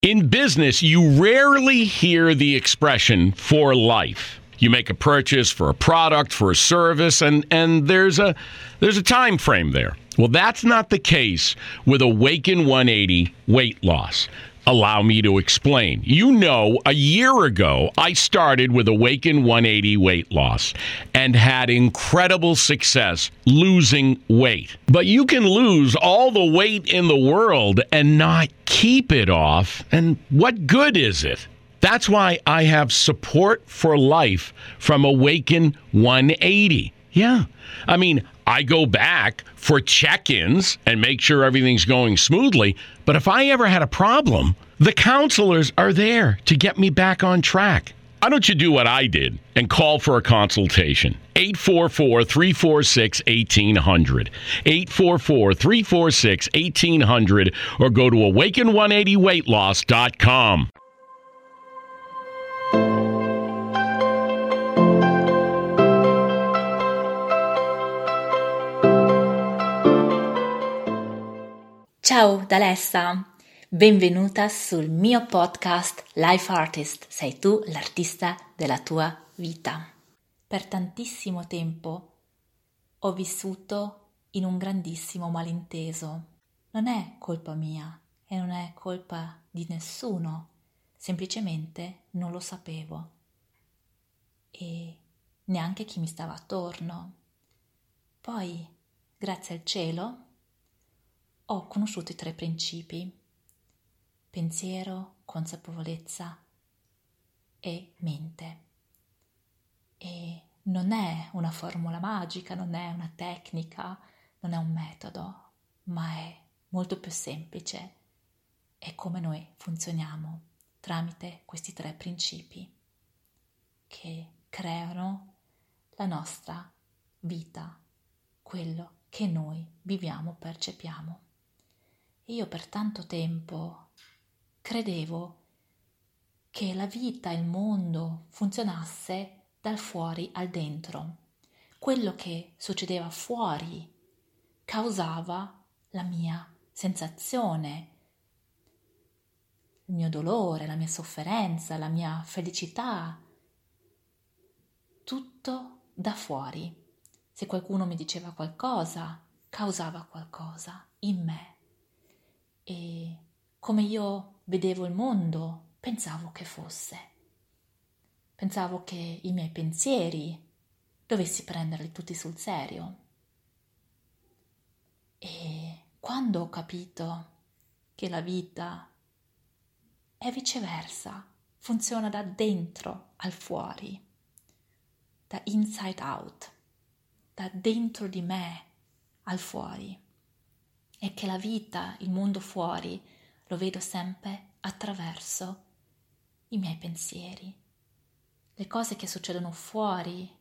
In business, you rarely hear the expression for life. You make a purchase for a product, for a service, and there's a time frame there. Well, that's not the case with Awaken 180 weight loss. Allow me to explain. You know, a year ago, I started with Awaken 180 weight loss and had incredible success losing weight. But you can lose all the weight in the world and not keep it off. And what good is it? That's why I have support for life from Awaken 180. Yeah. I mean, I go back for check-ins and make sure everything's going smoothly. But if I ever had a problem, the counselors are there to get me back on track. Why don't you do what I did and call for a consultation? 844-346-1800. 844-346-1800 or go to awaken180weightloss.com. Ciao da Alessa, benvenuta sul mio podcast Life Artist, sei tu l'artista della tua vita. Per tantissimo tempo ho vissuto in un grandissimo malinteso. Non è colpa mia e non è colpa di nessuno, semplicemente non lo sapevo e neanche chi mi stava attorno. Poi, grazie al cielo, ho conosciuto i 3 principi: pensiero, consapevolezza e mente. E non è una formula magica, non è una tecnica, non è un metodo, ma è molto più semplice. È come noi funzioniamo tramite questi 3 principi che creano la nostra vita, quello che noi viviamo, percepiamo. Io per tanto tempo credevo che la vita, il mondo funzionasse dal fuori al dentro. Quello che succedeva fuori causava la mia sensazione, il mio dolore, la mia sofferenza, la mia felicità, tutto da fuori. Se qualcuno mi diceva qualcosa, causava qualcosa in me. E come io vedevo il mondo, pensavo che fosse. Pensavo che i miei pensieri dovessi prenderli tutti sul serio. E quando ho capito che la vita è viceversa, funziona da dentro al fuori, da inside out, da dentro di me al fuori, e che la vita, il mondo fuori, lo vedo sempre attraverso i miei pensieri. Le cose che succedono fuori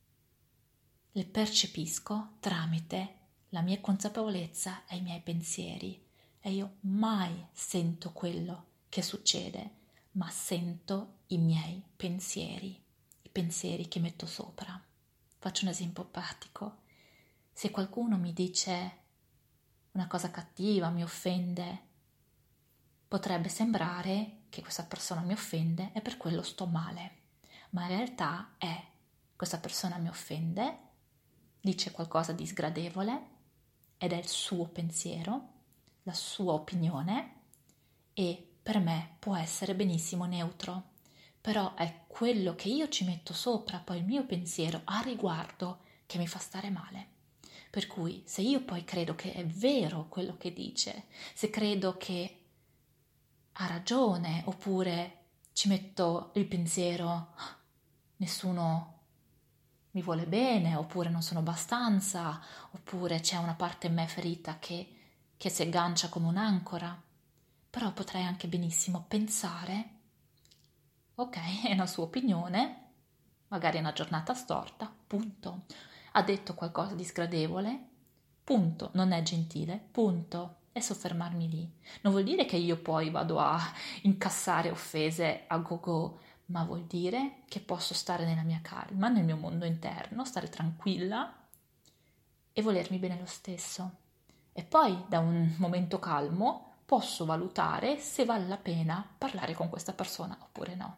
le percepisco tramite la mia consapevolezza e i miei pensieri, e io mai sento quello che succede, ma sento i miei pensieri, i pensieri che metto sopra. Faccio un esempio pratico. Se qualcuno mi dice una cosa cattiva, mi offende, potrebbe sembrare che questa persona mi offende e per quello sto male, ma in realtà questa persona mi offende, dice qualcosa di sgradevole ed è il suo pensiero, la sua opinione, e per me può essere benissimo neutro, però è quello che io ci metto sopra, poi il mio pensiero a riguardo, che mi fa stare male. Per cui se io poi credo che è vero quello che dice, se credo che ha ragione, oppure ci metto il pensiero nessuno mi vuole bene, oppure non sono abbastanza, oppure c'è una parte in me ferita che si aggancia come un'ancora, però potrei anche benissimo pensare, ok, è una sua opinione, magari è una giornata storta, punto. Ha detto qualcosa di sgradevole, punto, non è gentile, punto, e soffermarmi lì. Non vuol dire che io poi vado a incassare offese a go-go, ma vuol dire che posso stare nella mia calma, nel mio mondo interno, stare tranquilla e volermi bene lo stesso. E poi da un momento calmo posso valutare se vale la pena parlare con questa persona oppure no.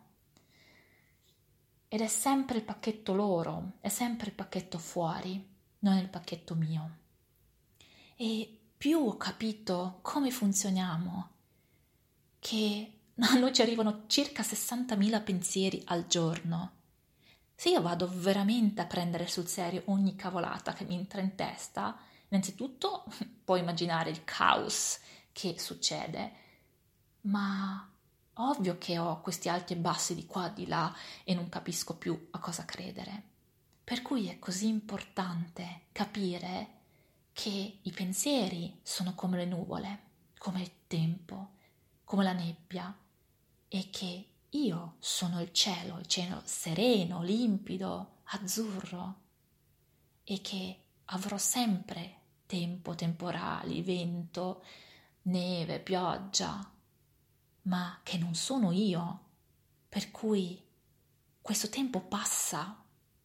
Ed è sempre il pacchetto loro, è sempre il pacchetto fuori, non il pacchetto mio. E più ho capito come funzioniamo, che a noi ci arrivano circa 60.000 pensieri al giorno. Se io vado veramente a prendere sul serio ogni cavolata che mi entra in testa, innanzitutto puoi immaginare il caos che succede, ma ovvio che ho questi alti e bassi di qua e di là e non capisco più a cosa credere. Per cui è così importante capire che i pensieri sono come le nuvole, come il tempo, come la nebbia, e che io sono il cielo sereno, limpido, azzurro, e che avrò sempre tempo, temporali, vento, neve, pioggia, ma che non sono io, per cui questo tempo passa,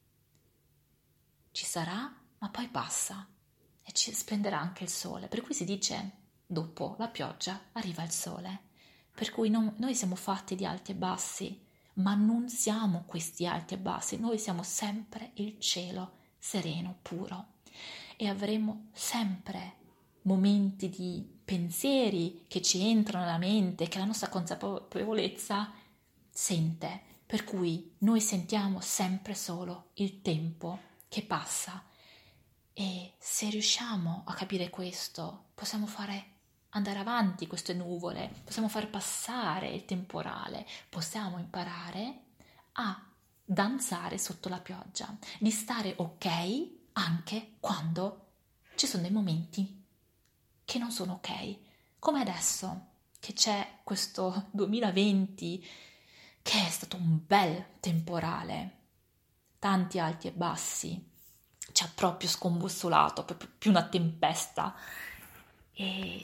ci sarà, ma poi passa e ci splenderà anche il sole, per cui si dice dopo la pioggia arriva il sole. Per cui noi siamo fatti di alti e bassi, ma non siamo questi alti e bassi, noi siamo sempre il cielo sereno, puro, e avremo sempre momenti di pensieri che ci entrano nella mente, che la nostra consapevolezza sente, per cui noi sentiamo sempre solo il tempo che passa. E se riusciamo a capire questo, possiamo fare andare avanti queste nuvole, possiamo far passare il temporale, possiamo imparare a danzare sotto la pioggia, di stare ok anche quando ci sono dei momenti che non sono ok, come adesso che c'è questo 2020 che è stato un bel temporale, tanti alti e bassi, ci ha proprio scombussolato, proprio più una tempesta, ed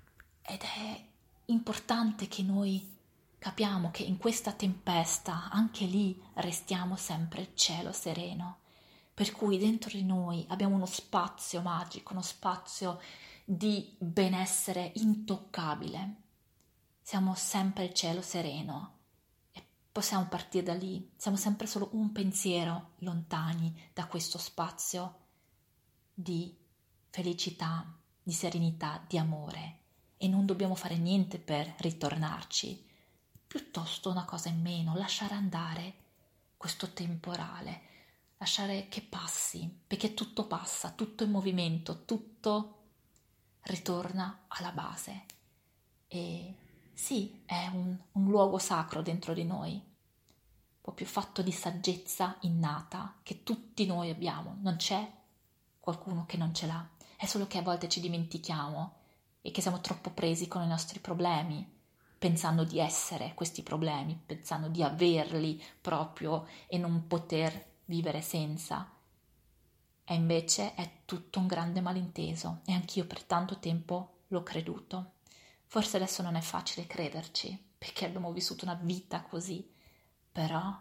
è importante che noi capiamo che in questa tempesta anche lì restiamo sempre il cielo sereno, per cui dentro di noi abbiamo uno spazio magico, uno spazio di benessere intoccabile, siamo sempre il cielo sereno e possiamo partire da lì, siamo sempre solo un pensiero lontani da questo spazio di felicità, di serenità, di amore, e non dobbiamo fare niente per ritornarci, piuttosto una cosa in meno, lasciare andare questo temporale, lasciare che passi, perché tutto passa, tutto è in movimento, tutto ritorna alla base. E sì, è un luogo sacro dentro di noi, proprio fatto di saggezza innata che tutti noi abbiamo, non c'è qualcuno che non ce l'ha, è solo che a volte ci dimentichiamo e che siamo troppo presi con i nostri problemi, pensando di essere questi problemi, pensando di averli proprio e non poter vivere senza. E invece è tutto un grande malinteso e anch'io per tanto tempo l'ho creduto. Forse adesso non è facile crederci perché abbiamo vissuto una vita così, però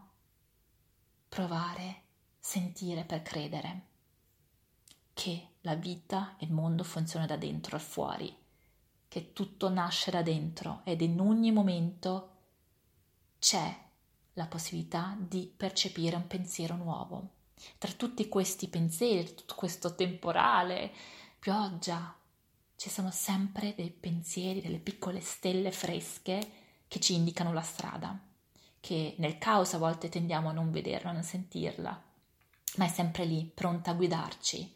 provare, sentire per credere che la vita e il mondo funziona da dentro al fuori, che tutto nasce da dentro ed in ogni momento c'è la possibilità di percepire un pensiero nuovo. Tra tutti questi pensieri, tutto questo temporale, pioggia, ci sono sempre dei pensieri, delle piccole stelle fresche che ci indicano la strada, che nel caos a volte tendiamo a non vederla, a non sentirla, ma è sempre lì, pronta a guidarci.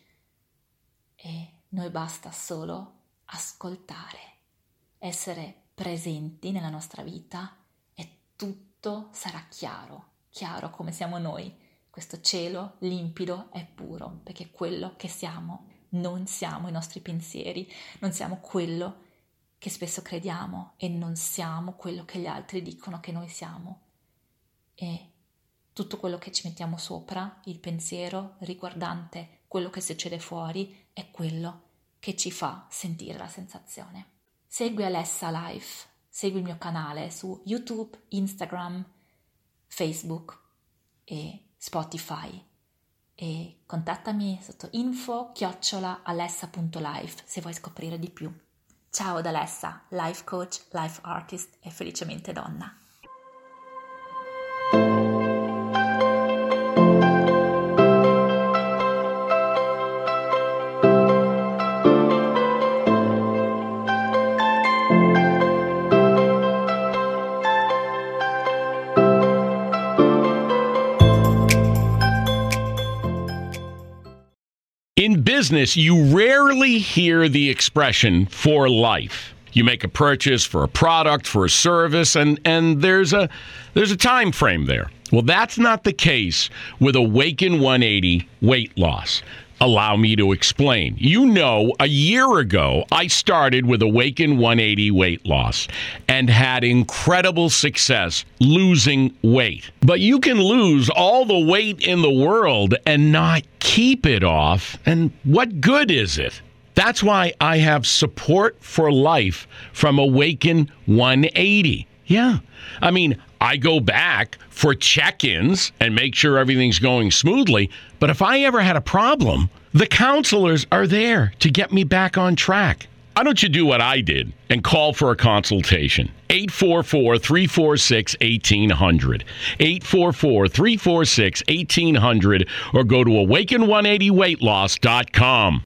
E noi basta solo ascoltare, essere presenti nella nostra vita e tutto sarà chiaro, chiaro come siamo noi, questo cielo limpido e puro, perché quello che siamo, non siamo i nostri pensieri, non siamo quello che spesso crediamo e non siamo quello che gli altri dicono che noi siamo. E tutto quello che ci mettiamo sopra, il pensiero riguardante quello che succede fuori, è quello che ci fa sentire la sensazione. Segui Alessa Life, segui il mio canale su YouTube, Instagram, Facebook e Spotify e contattami sotto info@alessa.life se vuoi scoprire di più. Ciao da Alessa, life coach, life artist e felicemente donna. In business, you rarely hear the expression for life. You make a purchase for a product, for a service, and there's a time frame there. Well, that's not the case with Awaken 180 weight loss. Allow me to explain. You know, a year ago, I started with Awaken 180 weight loss and had incredible success losing weight. But you can lose all the weight in the world and not keep it off. And what good is it? That's why I have support for life from Awaken 180. Yeah. I mean, I go back for check-ins and make sure everything's going smoothly. But if I ever had a problem, the counselors are there to get me back on track. Why don't you do what I did and call for a consultation? 844-346-1800. 844-346-1800 or go to awaken180weightloss.com.